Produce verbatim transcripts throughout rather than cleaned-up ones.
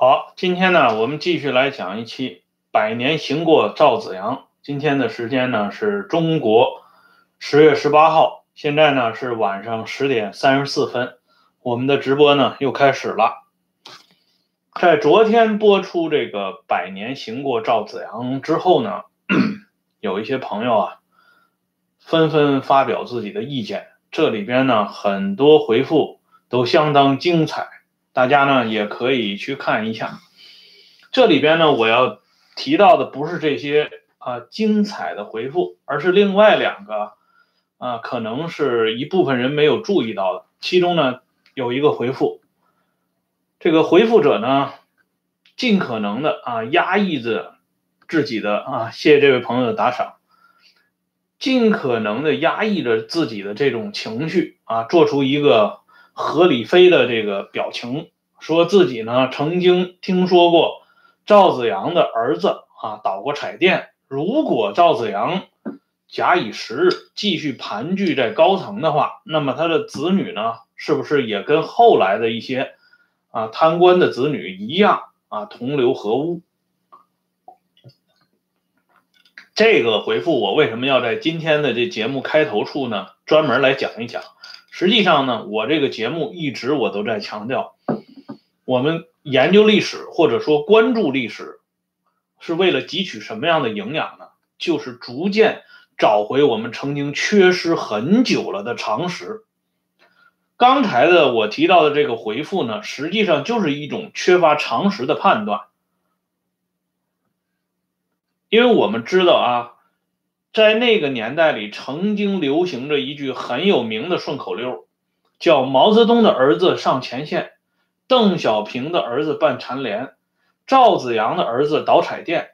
好，今天呢，我们继续来讲一期百年行过赵子阳。今天的时间呢是中国十月十八号，现在呢是晚上十点三十四分，我们的直播呢又开始了。在昨天播出这个百年行过赵子阳之后呢，有一些朋友啊纷纷发表自己的意见，这里边呢很多回复都相当精彩。大家呢也可以去看一下，这里边呢我要提到的不是这些啊、呃、精彩的回复，而是另外两个啊、呃、可能是一部分人没有注意到的。其中呢有一个回复，这个回复者呢尽可能的啊压抑着自己的啊，谢谢这位朋友的打赏，尽可能的压抑着自己的这种情绪啊，做出一个合理非的这个表情，说自己呢曾经听说过赵子阳的儿子啊倒过彩电，如果赵子阳假以时日继续盘踞在高层的话，那么他的子女呢是不是也跟后来的一些啊贪官的子女一样啊同流合污？这个回复我为什么要在今天的这节目开头处呢专门来讲一讲？实际上呢，我这个节目一直我都在强调，我们研究历史或者说关注历史，是为了汲取什么样的营养呢？就是逐渐找回我们曾经缺失很久了的常识。刚才的我提到的这个回复呢，实际上就是一种缺乏常识的判断。因为我们知道啊，在那个年代里曾经流行着一句很有名的顺口溜，叫毛泽东的儿子上前线，邓小平的儿子办残联，赵子阳的儿子倒彩电。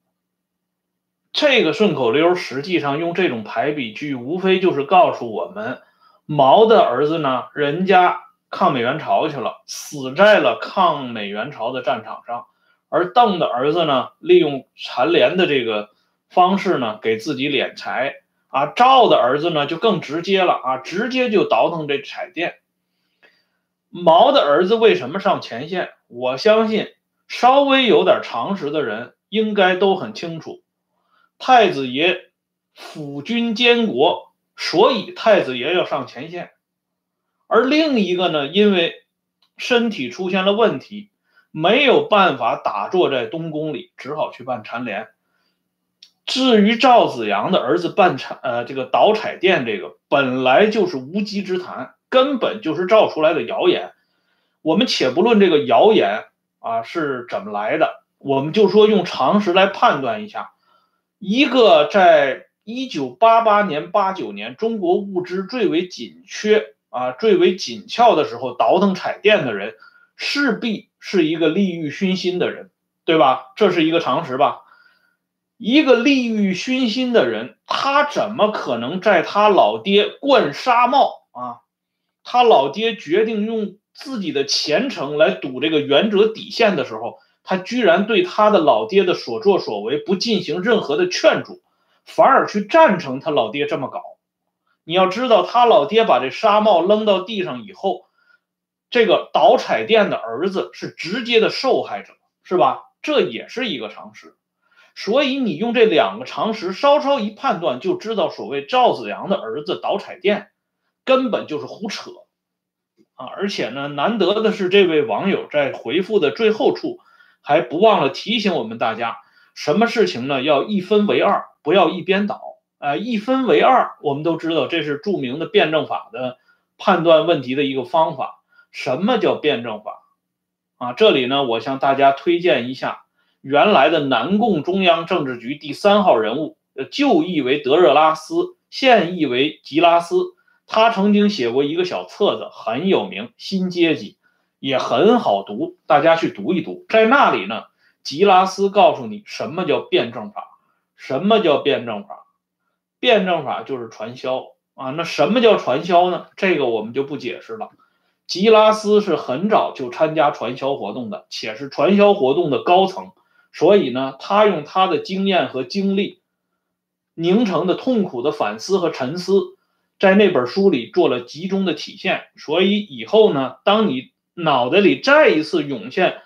这个顺口溜实际上用这种排比句，无非就是告诉我们，毛的儿子呢，人家抗美援朝去了，死在了抗美援朝的战场上，而邓的儿子呢，利用残联的这个方式呢，给自己敛财啊。赵的儿子呢，就更直接了啊，直接就倒腾这彩电。毛的儿子为什么上前线？我相信稍微有点常识的人应该都很清楚。太子爷辅军监国，所以太子爷要上前线。而另一个呢，因为身体出现了问题，没有办法打坐在东宫里，只好去办残联。至于赵子阳的儿子办彩呃这个倒彩电，这个本来就是无稽之谈，根本就是造出来的谣言。我们且不论这个谣言啊是怎么来的，我们就说用常识来判断一下，一个在一九八八年、八九年中国物资最为紧缺啊、最为紧俏的时候倒腾彩电的人，势必是一个利欲熏心的人，对吧？这是一个常识吧？一个利欲熏心的人，他怎么可能在他老爹灌沙帽啊？他老爹决定用自己的前程来赌这个原则底线的时候，他居然对他的老爹的所作所为不进行任何的劝阻，反而去赞成他老爹这么搞。你要知道，他老爹把这纱帽扔到地上以后，这个倒彩电的儿子是直接的受害者，是吧？这也是一个常识。所以你用这两个常识稍稍一判断，就知道所谓赵子阳的儿子倒彩电根本就是胡扯啊！而且呢，难得的是这位网友在回复的最后处还不忘了提醒我们大家，什么事情呢要一分为二，不要一边倒。呃，一分为二，我们都知道这是著名的辩证法的判断问题的一个方法。什么叫辩证法啊？这里呢，我向大家推荐一下原来的南共中央政治局第三号人物，旧译为德热拉斯，现译为吉拉斯。他曾经写过一个小册子，很有名，《新阶级》，也很好读，大家去读一读。在那里呢，吉拉斯告诉你什么叫辩证法。什么叫辩证法？辩证法就是传销啊。那什么叫传销呢？这个我们就不解释了。吉拉斯是很早就参加传销活动的，且是传销活动的高层，所以呢，他用他的经验和经历凝成的痛苦的反思和沉思，在那本书里做了集中的体现。所以以后呢，当你脑袋里再一次涌现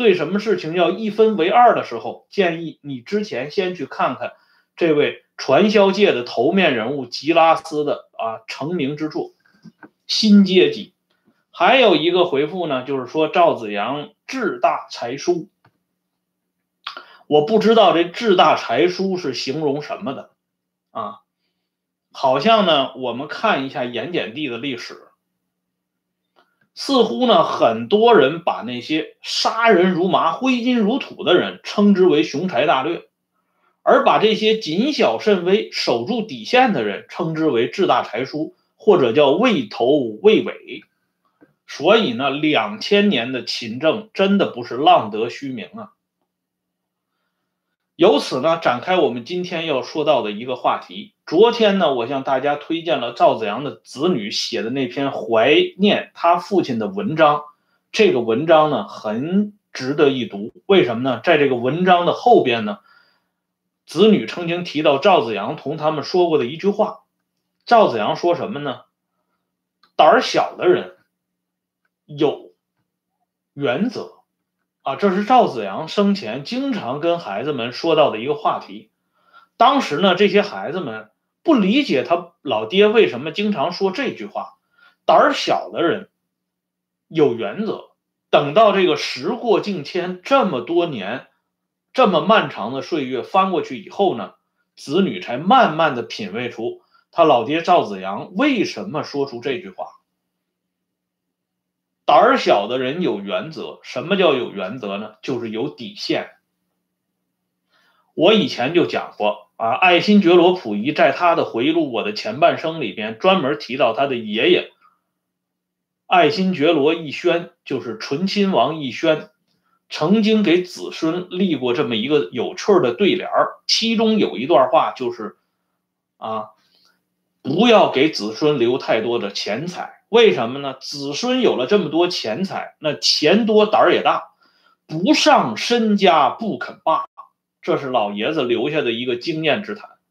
对什么事情要一分为二的时候，建议你之前先去看看这位传销界的头面人物吉拉斯的啊成名之作《新阶级》。还有一个回复呢，就是说赵子阳志大才疏。我不知道这志大才疏是形容什么的啊？好像呢，我们看一下盐碱地的历史，似乎呢，很多人把那些杀人如麻、挥金如土的人称之为雄才大略，而把这些谨小慎微、守住底线的人称之为志大才疏，或者叫畏头畏尾。所以呢，两千年的勤政真的不是浪得虚名啊。由此呢，展开我们今天要说到的一个话题。昨天呢，我向大家推荐了赵子阳的子女写的那篇怀念他父亲的文章，这个文章呢很值得一读。为什么呢？在这个文章的后边呢，子女曾经提到赵子阳同他们说过的一句话。赵子阳说什么呢？胆小的人有原则啊，这是赵子阳生前经常跟孩子们说到的一个话题。当时呢，这些孩子们不理解他老爹为什么经常说这句话，胆小的人有原则。等到这个时过境迁，这么多年，这么漫长的岁月翻过去以后呢，子女才慢慢的品味出他老爹赵子阳为什么说出这句话。胆小的人有原则，什么叫有原则呢？就是有底线。我以前就讲过啊，爱新觉罗溥仪在他的回忆录《我的前半生》里边专门提到他的爷爷爱新觉罗奕轩，就是醇亲王奕轩，曾经给子孙立过这么一个有趣的对联，其中有一段话就是啊，不要给子孙留太多的钱财。为什么呢？子孙有了这么多钱财，那钱多胆儿也大，不上身家不肯罢。这是老爷子留下的一个经验之谈。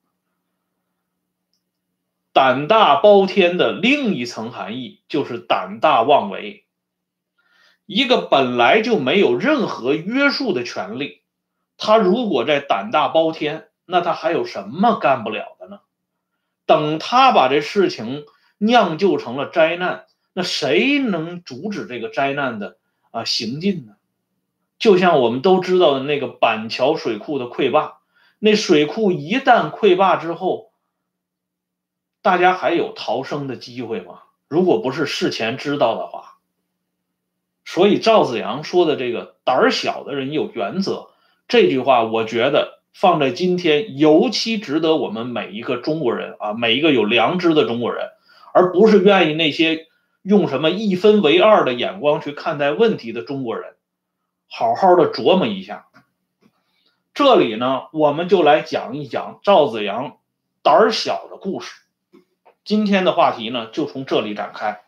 胆大包天的另一层含义就是胆大妄为。一个本来就没有任何约束的权利，他如果在胆大包天，那他还有什么干不了的呢？等他把这事情酿就成了灾难，那谁能阻止这个灾难的啊行进呢？就像我们都知道的那个板桥水库的溃坝，那水库一旦溃坝之后，大家还有逃生的机会吗？如果不是事前知道的话。所以赵子阳说的这个胆小的人有原则，这句话我觉得放在今天尤其值得我们每一个中国人啊，每一个有良知的中国人，而不是愿意那些用什么一分为二的眼光去看待问题的中国人，好好的琢磨一下。这里呢，我们就来讲一讲赵子阳胆小的故事。今天的话题呢，就从这里展开。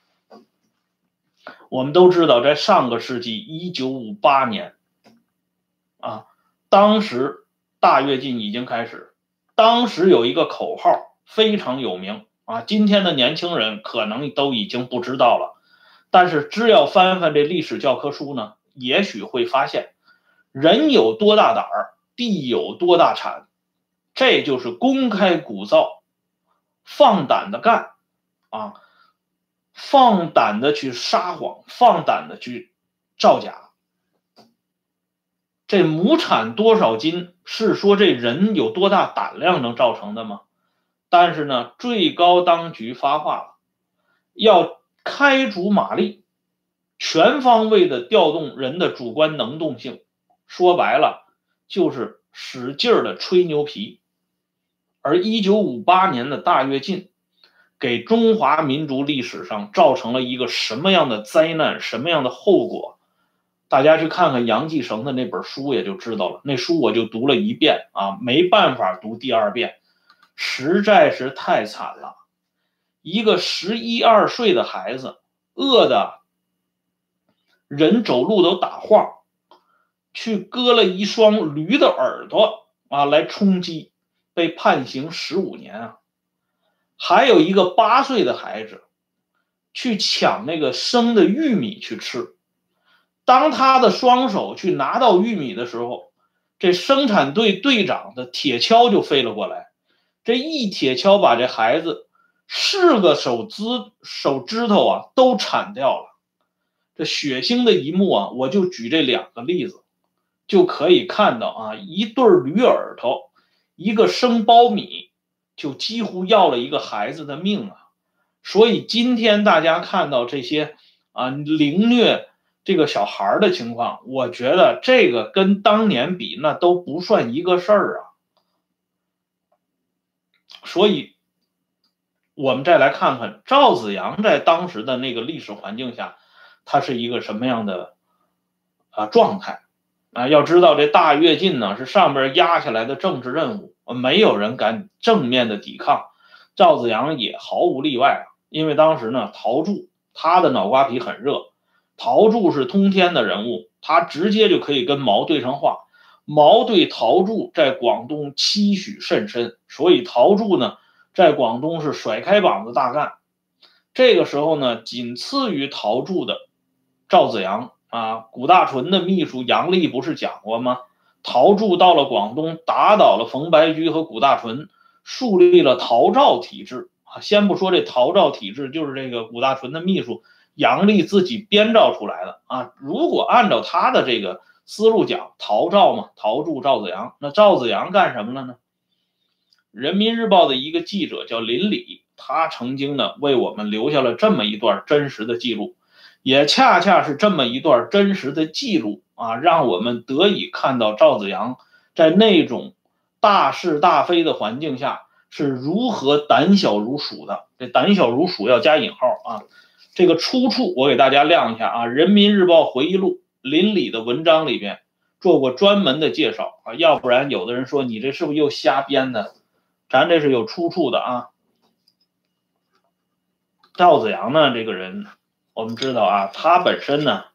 我们都知道，在上个世纪一九五八年啊，当时大跃进已经开始，当时有一个口号非常有名啊，今天的年轻人可能都已经不知道了，但是只要翻翻这历史教科书呢，也许会发现，人有多大胆儿，地有多大产，这就是公开鼓噪，放胆的干啊。放胆的去撒谎，放胆的去造假。这亩产多少斤是说这人有多大胆量能造成的吗？但是呢，最高当局发话了，要开足马力，全方位的调动人的主观能动性。说白了，就是使劲的吹牛皮。而一九五八年的大跃进给中华民族历史上造成了一个什么样的灾难，什么样的后果？大家去看看杨继绳的那本书也就知道了。那书我就读了一遍啊，没办法读第二遍，实在是太惨了。一个十一二岁的孩子，饿的人走路都打晃，去割了一双驴的耳朵啊，来充饥，被判刑十五年啊。还有一个八岁的孩子去抢那个生的玉米去吃， 当他的双手去拿到玉米的时候，这生产队队长的铁锹就飞了过来，这一铁锹把这孩子四个手指手指头啊都铲掉了。这血腥的一幕啊，我就举这两个例子，就可以看到啊，一对驴耳朵，一个生苞米，就几乎要了一个孩子的命啊。所以今天大家看到这些啊凌虐这个小孩的情况，我觉得这个跟当年比那都不算一个事儿啊。所以我们再来看看赵子阳在当时的那个历史环境下，他是一个什么样的啊状态啊？要知道这大跃进呢是上边压下来的政治任务，没有人敢正面的抵抗，赵子阳也毫无例外啊。因为当时呢，陶铸他的脑瓜皮很热，陶铸是通天的人物，他直接就可以跟毛对上话。毛对陶铸在广东期许甚深，所以陶铸呢在广东是甩开膀子大干。这个时候呢，仅次于陶铸的赵子阳啊，古大纯的秘书杨丽不是讲过吗？陶铸到了广东，打倒了冯白驹和古大纯，树立了陶赵体制。先不说这陶赵体制就是这个古大纯的秘书杨丽自己编造出来的啊。如果按照他的这个思路讲，陶赵嘛，陶铸赵子阳，那赵子阳干什么了呢？人民日报的一个记者叫林礼，他曾经呢为我们留下了这么一段真实的记录，也恰恰是这么一段真实的记录啊，让我们得以看到赵子阳在那种大是大非的环境下是如何胆小如鼠的。这胆小如鼠要加引号啊。这个出处我给大家亮一下啊，人民日报回忆录林礼的文章里边做过专门的介绍啊，要不然有的人说你这是不是又瞎编的？咱这是有出处的啊。赵子阳呢这个人，我们知道啊，他本身呢，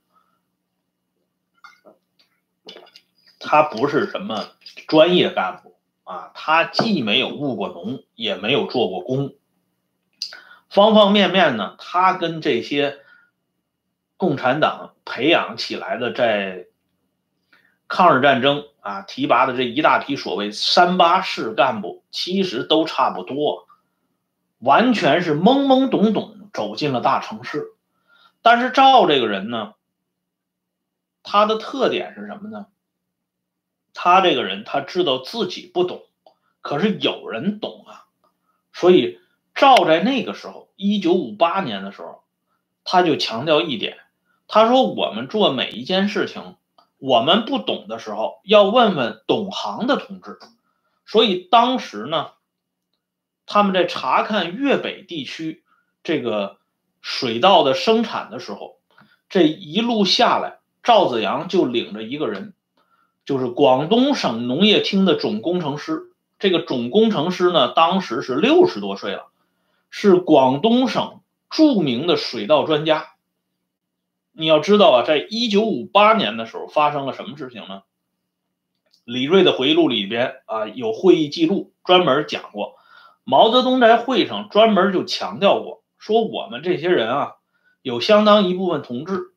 他不是什么专业干部啊，他既没有务过农，也没有做过工，方方面面呢，他跟这些共产党培养起来的在抗日战争啊提拔的这一大批所谓三八式干部，其实都差不多，完全是懵懵懂懂走进了大城市。但是赵这个人呢，他的特点是什么呢？他这个人他知道自己不懂，可是有人懂啊。所以赵在那个时候一九五八年的时候，他就强调一点，他说我们做每一件事情，我们不懂的时候要问问懂行的同志。所以当时呢，他们在查看粤北地区这个水稻的生产的时候，这一路下来，赵子阳就领着一个人，就是广东省农业厅的总工程师。这个总工程师呢，当时是六十多岁了，是广东省著名的水稻专家。你要知道啊，在一九五八年的时候发生了什么事情呢？李瑞的回忆录里边啊有会议记录专门讲过，毛泽东在会上专门就强调过，说我们这些人啊，有相当一部分同志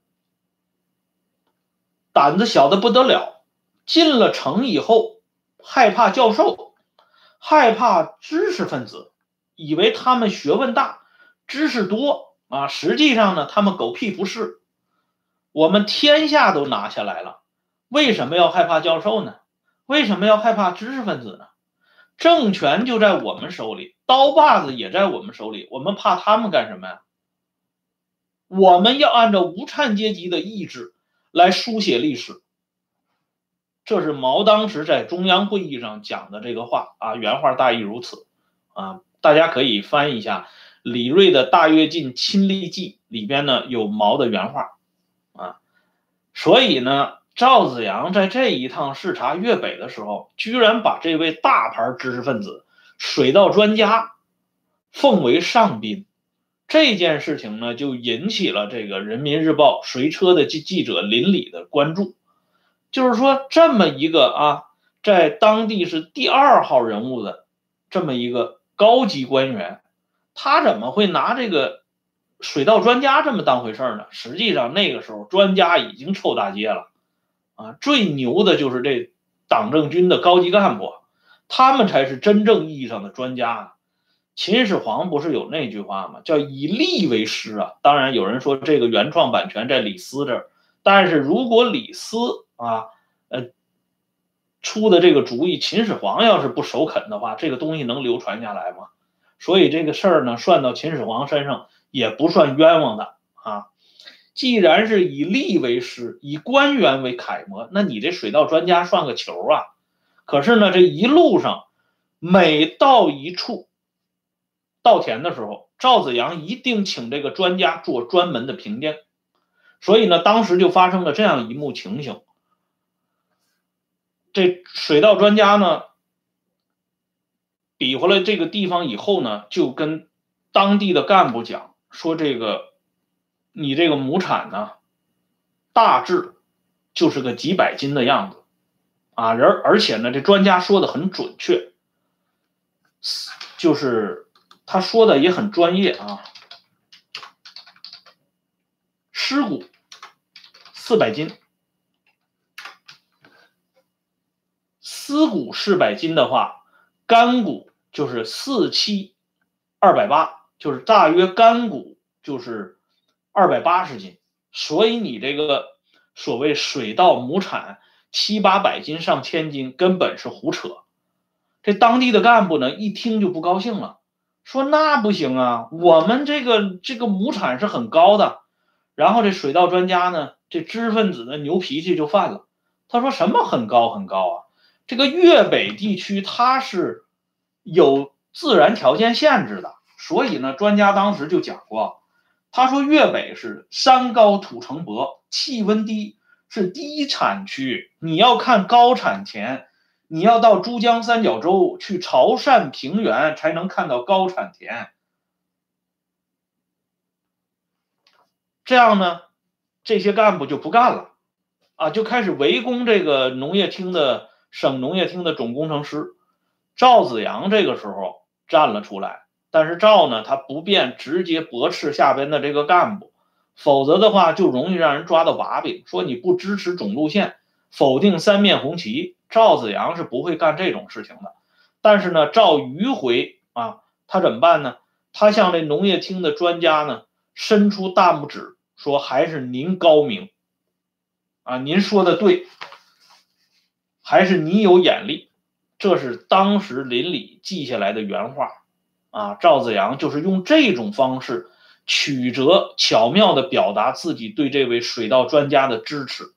胆子小的不得了，进了城以后害怕教授，害怕知识分子，以为他们学问大，知识多啊，实际上呢，他们狗屁不是。我们天下都拿下来了，为什么要害怕教授呢？为什么要害怕知识分子呢？政权就在我们手里，刀把子也在我们手里，我们怕他们干什么呀？我们要按照无产阶级的意志来书写历史。这是毛当时在中央会议上讲的这个话啊，原话大意如此啊，大家可以翻一下李瑞的《大跃进亲历记》里边呢有毛的原话啊。所以呢，赵子阳在这一趟视察粤北的时候，居然把这位大牌知识分子、水稻专家奉为上宾。这件事情呢，就引起了这个人民日报随车的记者林礼的关注。就是说，这么一个啊，在当地是第二号人物的这么一个高级官员，他怎么会拿这个水稻专家这么当回事呢？实际上那个时候专家已经臭大街了啊！最牛的就是这党政军的高级干部，他们才是真正意义上的专家啊。秦始皇不是有那句话吗？叫以吏为师啊。当然有人说这个原创版权在李斯这儿，但是如果李斯啊，呃，出的这个主意，秦始皇要是不首肯的话，这个东西能流传下来吗？所以这个事儿呢，算到秦始皇身上也不算冤枉的啊。既然是以吏为师，以官员为楷模，那你这水稻专家算个球啊！可是呢，这一路上每到一处稻田的时候，赵子阳一定请这个专家做专门的评鉴。所以呢，当时就发生了这样一幕情形：这水稻专家呢，比划了这个地方以后呢，就跟当地的干部讲说，这个你这个亩产呢，大致就是个几百斤的样子啊，而而且呢，这专家说的很准确，就是他说的也很专业啊。尸骨四百斤，丝骨四百斤的话，干骨就是四七二百八，就是大约干骨就是二百八十斤。所以你这个所谓水稻亩产七八百斤上千斤，根本是胡扯。这当地的干部呢，一听就不高兴了，说那不行啊，我们这个这个亩产是很高的。然后这水稻专家呢，这知识分子的牛脾气就犯了，他说什么很高很高啊？这个粤北地区它是有自然条件限制的，所以呢，专家当时就讲过，他说粤北是山高土城薄，气温低，是低产区，你要看高产田，你要到珠江三角洲去潮汕平原才能看到高产田。这样呢，这些干部就不干了啊，就开始围攻这个农业厅的省农业厅的总工程师赵子阳。这个时候站了出来，但是赵呢，他不便直接驳斥下边的这个干部，否则的话就容易让人抓到把柄，说你不支持总路线，否定三面红旗。赵子阳是不会干这种事情的。但是呢，赵迂回啊，他怎么办呢？他向这农业厅的专家呢伸出大拇指，说还是您高明啊，您说的对，还是你有眼力。这是当时邻里记下来的原话啊。赵子阳就是用这种方式曲折巧妙地表达自己对这位水稻专家的支持。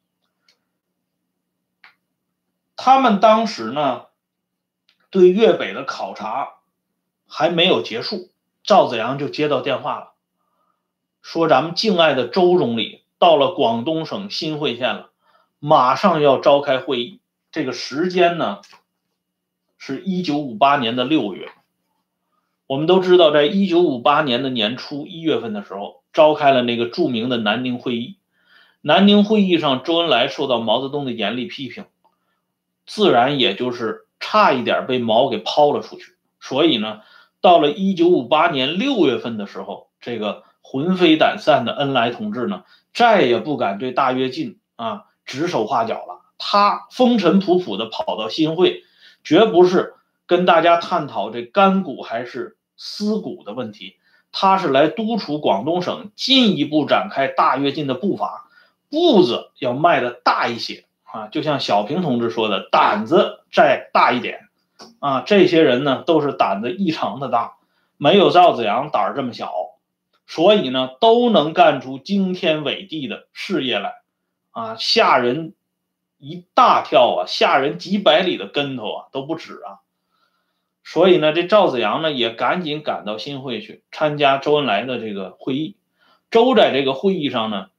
他们当时呢，对粤北的考察还没有结束，赵子阳就接到电话了，说咱们敬爱的周总理到了广东省新会县了，马上要召开会议。这个时间呢，是一九五八年的六月。我们都知道，在一九五八年的年初一月份的时候，召开了那个著名的南宁会议。南宁会议上，周恩来受到毛泽东的严厉批评，自然也就是差一点被毛给抛了出去。所以呢，到了一九五八年六月份的时候，这个魂飞胆散的恩来同志呢，再也不敢对大跃进啊指手画脚了。他风尘仆仆的跑到新会，绝不是跟大家探讨这干股还是丝股的问题，他是来督促广东省进一步展开大跃进的步伐，步子要迈得大一些啊。就像小平同志说的，胆子再大一点啊。这些人呢，都是胆子异常的大，没有赵子阳胆儿这么小，所以呢，都能干出惊天伟地的事业来啊，吓人一大跳啊，吓人几百里的跟头啊，都不止啊。所以呢，这赵子阳呢也赶紧赶到新会去参加周恩来的这个会议。周在这个会议上呢，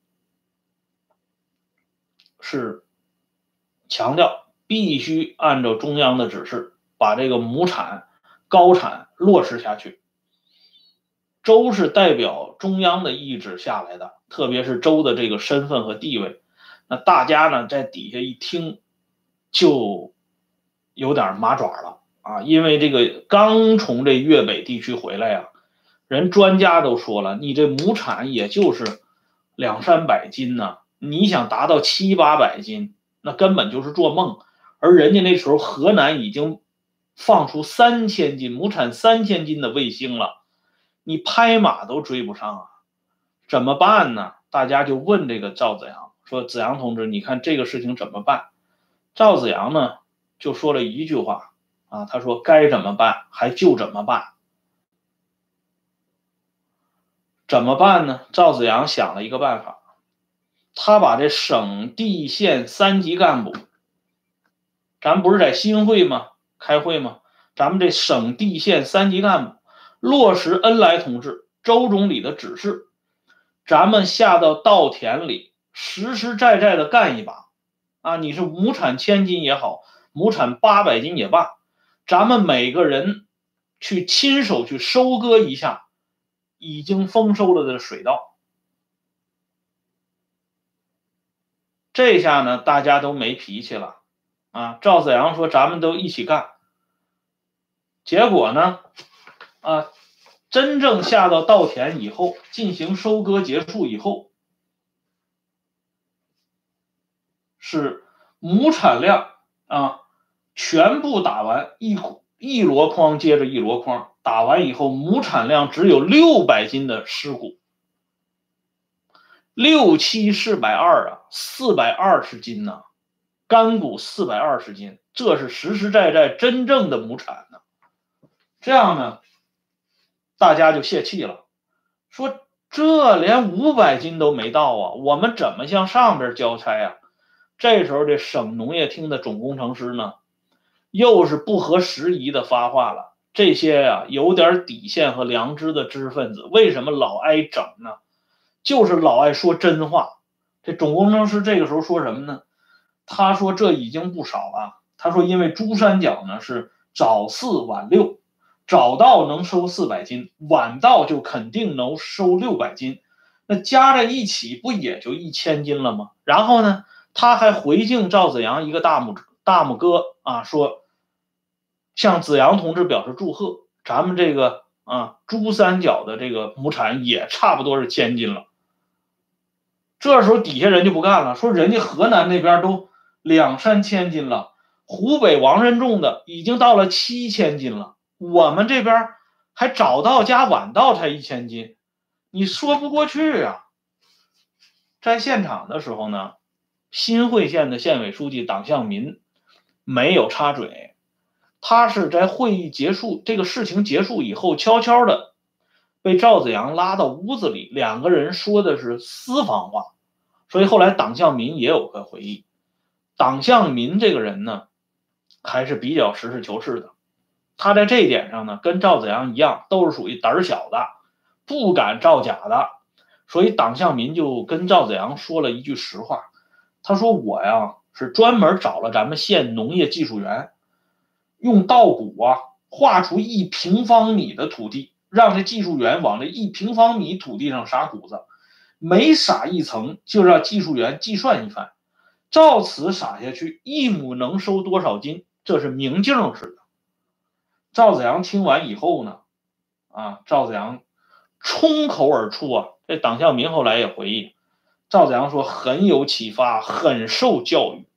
是强调必须按照中央的指示，把这个亩产高产落实下去。周是代表中央的意志下来的，特别是周的这个身份和地位，那大家呢在底下一听就有点麻爪了啊，因为这个刚从这粤北地区回来啊， 人专家都说了，你这亩产也就是两三百斤呢，你想达到七八百斤，那根本就是做梦。而人家那时候河南已经放出三千斤亩产三千斤的卫星了，你拍马都追不上啊，怎么办呢？大家就问这个赵子阳说：“子阳同志，你看这个事情怎么办？”赵子阳呢就说了一句话啊，他说：“该怎么办还就怎么办。”怎么办呢？赵子阳想了一个办法，他把这省地县三级干部，咱不是在新会吗？开会吗？咱们这省地县三级干部落实恩来同志、周总理的指示，咱们下到稻田里，实实在在的干一把啊！你是亩产千斤也好，亩产八百斤也罢，咱们每个人去亲手去收割一下已经丰收了的水稻。这下呢，大家都没脾气了啊！赵子阳说：“咱们都一起干。”结果呢，啊，真正下到稻田以后，进行收割结束以后，是亩产量啊，全部打完一一箩筐接着一箩筐，打完以后，亩产量只有六百斤的尸骨，六七四百二啊，四百二十斤呢、啊，干谷四百二十斤，这是实实在在真正的亩产呢。这样呢，大家就泄气了，说这连五百斤都没到啊，我们怎么向上边交差啊？这时候这省农业厅的总工程师呢，又是不合时宜的发话了。这些呀、啊、有点底线和良知的知识分子，为什么老爱整呢？就是老爱说真话。这总工程师这个时候说什么呢？他说这已经不少了。他说因为珠三角呢是早四晚六，早稻能收四百斤，晚稻就肯定能收六百斤，那加在一起不也就一千斤了吗？然后呢，他还回敬赵子阳一个大拇大拇哥啊，说向子阳同志表示祝贺，咱们这个啊珠三角的这个亩产也差不多是千斤了。这时候底下人就不干了，说人家河南那边都两三千斤了，湖北王任重的已经到了七千斤了，我们这边还早稻加晚稻才一千斤，你说不过去啊。在现场的时候呢，新会县的县委书记党向民没有插嘴，他是在会议结束这个事情结束以后，悄悄的被赵子阳拉到屋子里，两个人说的是私房话。所以后来党向民也有个回忆，党向民这个人呢，还是比较实事求是的。他在这一点上呢，跟赵子阳一样，都是属于胆小的，不敢造假的。所以党向民就跟赵子阳说了一句实话，他说我呀是专门找了咱们县农业技术员，用稻谷啊画出一平方米的土地，让这技术员往这一平方米土地上撒谷子，每撒一层就让技术员计算一番，照此撒下去，一亩能收多少斤，这是明镜似的。赵子阳听完以后呢，啊，赵子阳冲口而出啊，这党向民后来也回忆，赵子阳说很有启发，很受教育。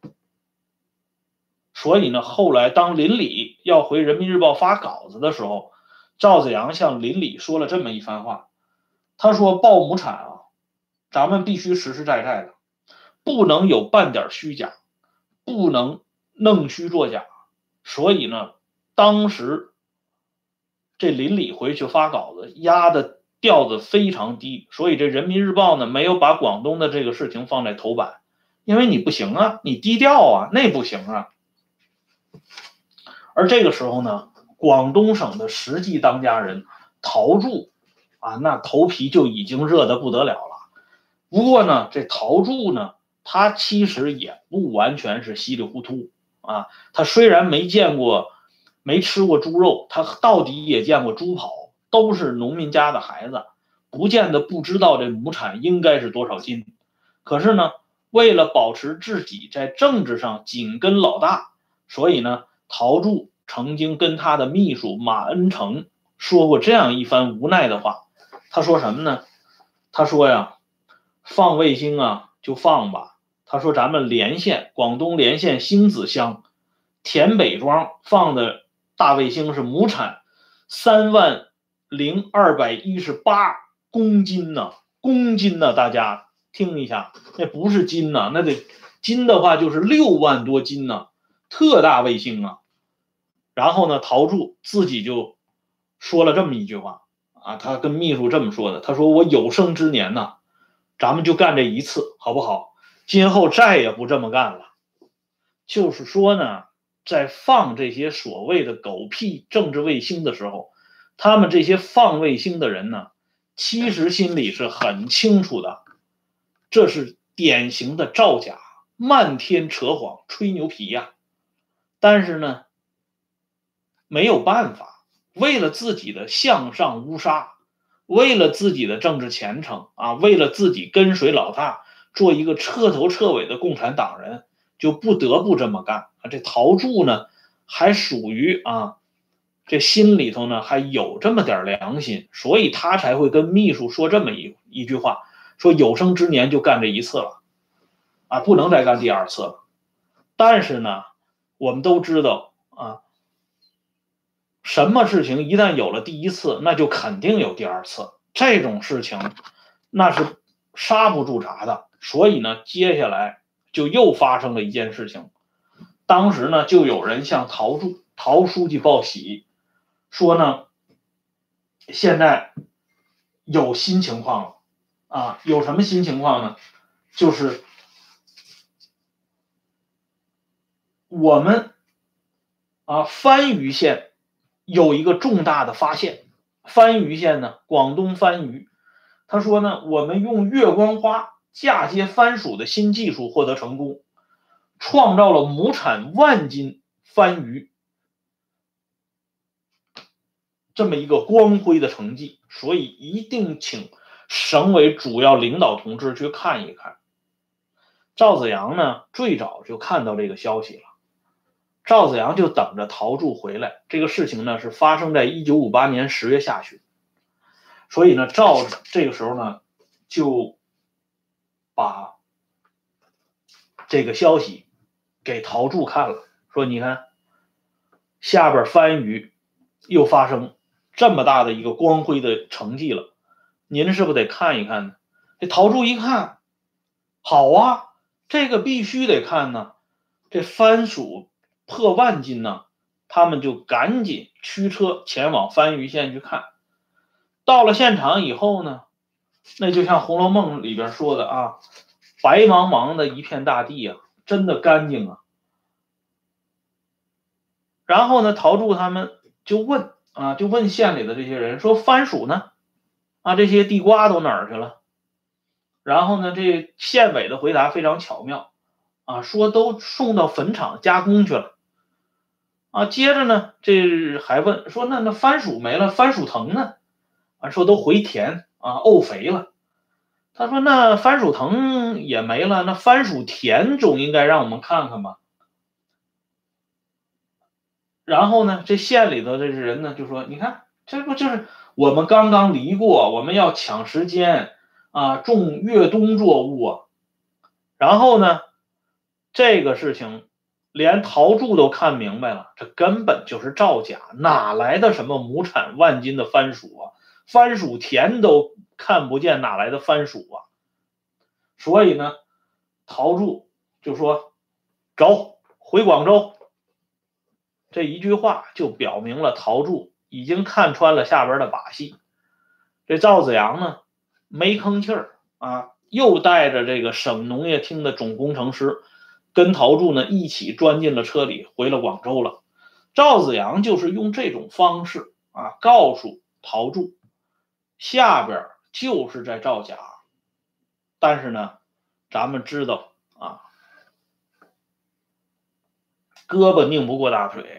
所以呢，后来当林李要回人民日报发稿子的时候，赵子阳向林李说了这么一番话，他说报亩产啊，咱们必须实实在在的，不能有半点虚假，不能弄虚作假。所以呢，当时这林李回去发稿子压的调子非常低，所以这人民日报呢没有把广东的这个事情放在头版，因为你不行啊，你低调啊，那不行啊。而这个时候呢，广东省的实际当家人陶铸啊，那头皮就已经热得不得了了。不过呢，这陶铸呢，他其实也不完全是稀里糊涂啊。他虽然没见过、没吃过猪肉，他到底也见过猪跑，都是农民家的孩子，不见得不知道这亩产应该是多少斤。可是呢，为了保持自己在政治上紧跟老大，所以呢，陶铸曾经跟他的秘书马恩成说过这样一番无奈的话。他说什么呢？他说呀，放卫星啊就放吧。他说咱们连县，广东连县星子乡田北庄放的大卫星是亩产三万零二百一十八公斤呢，公斤呢，大家听一下，那不是斤呢，那得斤的话就是六万多斤呢，特大卫星啊。然后呢，陶铸自己就说了这么一句话啊，他跟秘书这么说的，他说我有生之年呢，咱们就干这一次，好不好？今后再也不这么干了。就是说呢，在放这些所谓的狗屁政治卫星的时候，他们这些放卫星的人呢，其实心里是很清楚的，这是典型的造假，漫天扯谎，吹牛皮呀。但是呢，没有办法，为了自己的向上乌纱，为了自己的政治前程啊，为了自己跟随老大，做一个彻头彻尾的共产党人，就不得不这么干。这陶铸呢，还属于啊，这心里头呢还有这么点良心，所以他才会跟秘书说这么一一句话，说有生之年就干这一次了，啊，不能再干第二次了。但是呢，我们都知道啊，什么事情一旦有了第一次，那就肯定有第二次。这种事情那是刹不住闸的。所以呢，接下来就又发生了一件事情。当时呢，就有人向陶铸陶书记报喜，说呢，现在有新情况了啊！有什么新情况呢？就是我们啊番禺县有一个重大的发现。番禺县呢，广东番禺，他说呢，我们用月光花嫁接番薯的新技术获得成功，创造了亩产万斤番禺这么一个光辉的成绩，所以一定请省委主要领导同志去看一看。赵子阳呢，最早就看到这个消息了。赵子阳就等着陶铸回来。这个事情呢，是发生在一九五八年十月下旬。所以呢，赵这个时候呢，就把这个消息给陶铸看了，说你看，下边番禺又发生这么大的一个光辉的成绩了，您是不是得看一看呢？这陶铸一看，好啊，这个必须得看呢。这番薯破万斤呢，他们就赶紧驱车前往番禺县去看。到了现场以后呢，那就像《红楼梦》里边说的啊，白茫茫的一片大地啊，真的干净啊。然后呢，陶铸他们就问啊，就问县里的这些人说，番薯呢？啊，这些地瓜都哪儿去了？然后呢，这县委的回答非常巧妙啊，说都送到坟场加工去了。啊，接着呢，这还问说，那那番薯没了，番薯藤呢？啊，说都回田啊，沤肥了。他说那番薯藤也没了，那番薯田总应该让我们看看吧。然后呢，这县里头这人呢就说，你看，这不就是我们刚刚离过，我们要抢时间啊，种越冬作物啊。然后呢，这个事情连陶铸都看明白了，这根本就是造假，哪来的什么亩产万斤的番薯啊？番薯田都看不见，哪来的番薯啊？所以呢，陶铸就说走，回广州。这一句话就表明了陶铸已经看穿了下边的把戏。这赵子阳呢，没吭气儿啊，又带着这个省农业厅的总工程师跟陶铸呢一起钻进了车里，回了广州了。赵子阳就是用这种方式啊，告诉陶铸下边就是在造假。但是呢，咱们知道啊，胳膊拧不过大腿。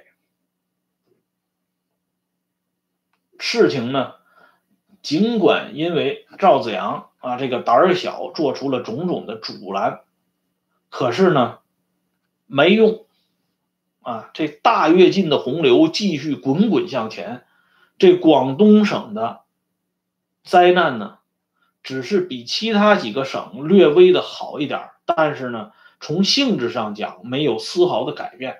事情呢，尽管因为赵子阳啊这个胆儿小，做出了种种的阻拦，可是呢，没用啊！这大跃进的洪流继续滚滚向前， 这广东省的灾难呢，只是比其他几个省略微的好一点，但是呢，从性质上讲没有丝毫的改变。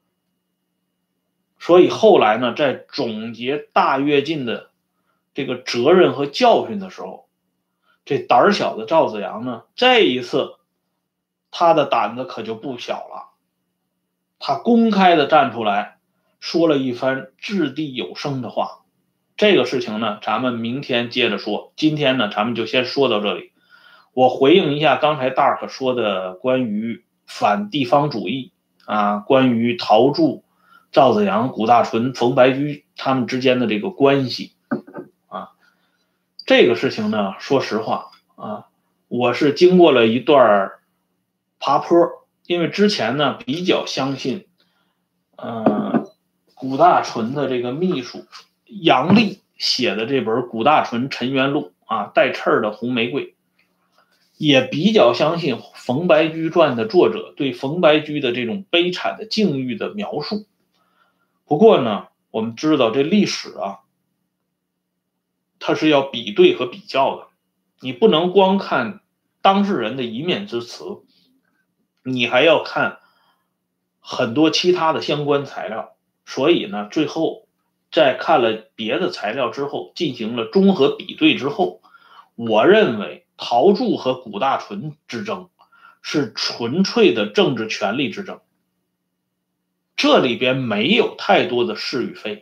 所以后来呢，在总结大跃进的这个责任和教训的时候，这胆小的赵紫阳呢，这一次他的胆子可就不小了，他公开的站出来说了一番掷地有声的话。这个事情呢，咱们明天接着说，今天呢，咱们就先说到这里。我回应一下刚才 Dark 说的关于反地方主义啊，关于陶铸、赵紫阳、谷大纯、冯白驹他们之间的这个关系啊，这个事情呢，说实话啊，我是经过了一段爬坡，因为之前呢比较相信，呃，谷大纯的这个秘书杨丽写的这本《谷大纯陈元录》啊，带刺儿的红玫瑰，也比较相信冯白驹传的作者对冯白驹的这种悲惨的境遇的描述。不过呢，我们知道这历史啊，它是要比对和比较的，你不能光看当事人的一面之词，你还要看很多其他的相关材料。所以呢，最后在看了别的材料之后，进行了综合比对之后，我认为陶铸和谷大纯之争是纯粹的政治权力之争，这里边没有太多的是与非，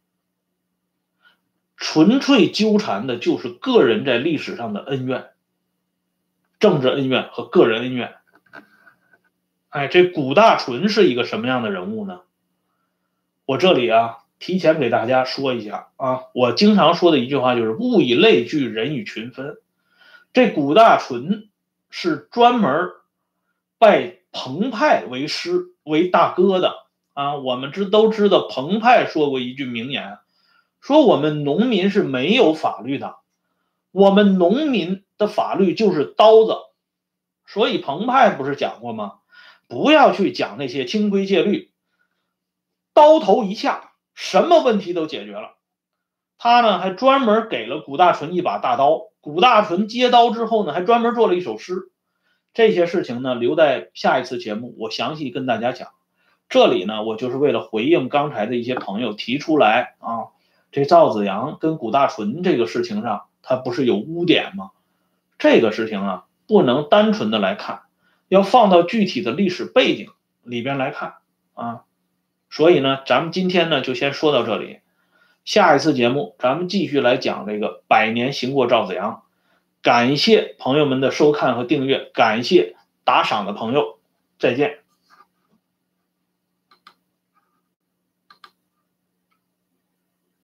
纯粹纠缠的就是个人在历史上的恩怨，政治恩怨和个人恩怨。哎，这谷大纯是一个什么样的人物呢？我这里啊提前给大家说一下啊，我经常说的一句话就是物以类聚，人以群分。这谷大纯是专门拜彭湃为师为大哥的啊。我们知都知道彭湃说过一句名言，说我们农民是没有法律的，我们农民的法律就是刀子。所以彭湃不是讲过吗？不要去讲那些清规戒律，刀头一下，什么问题都解决了。他呢还专门给了谷大纯一把大刀，谷大纯接刀之后呢，还专门做了一首诗。这些事情呢，留在下一次节目我详细跟大家讲。这里呢，我就是为了回应刚才的一些朋友提出来啊，这赵紫阳跟谷大纯这个事情上，他不是有污点吗？这个事情啊，不能单纯的来看，要放到具体的历史背景里边来看啊。所以呢，咱们今天呢就先说到这里，下一次节目咱们继续来讲这个百年行过赵紫阳。感谢朋友们的收看和订阅，感谢打赏的朋友，再见。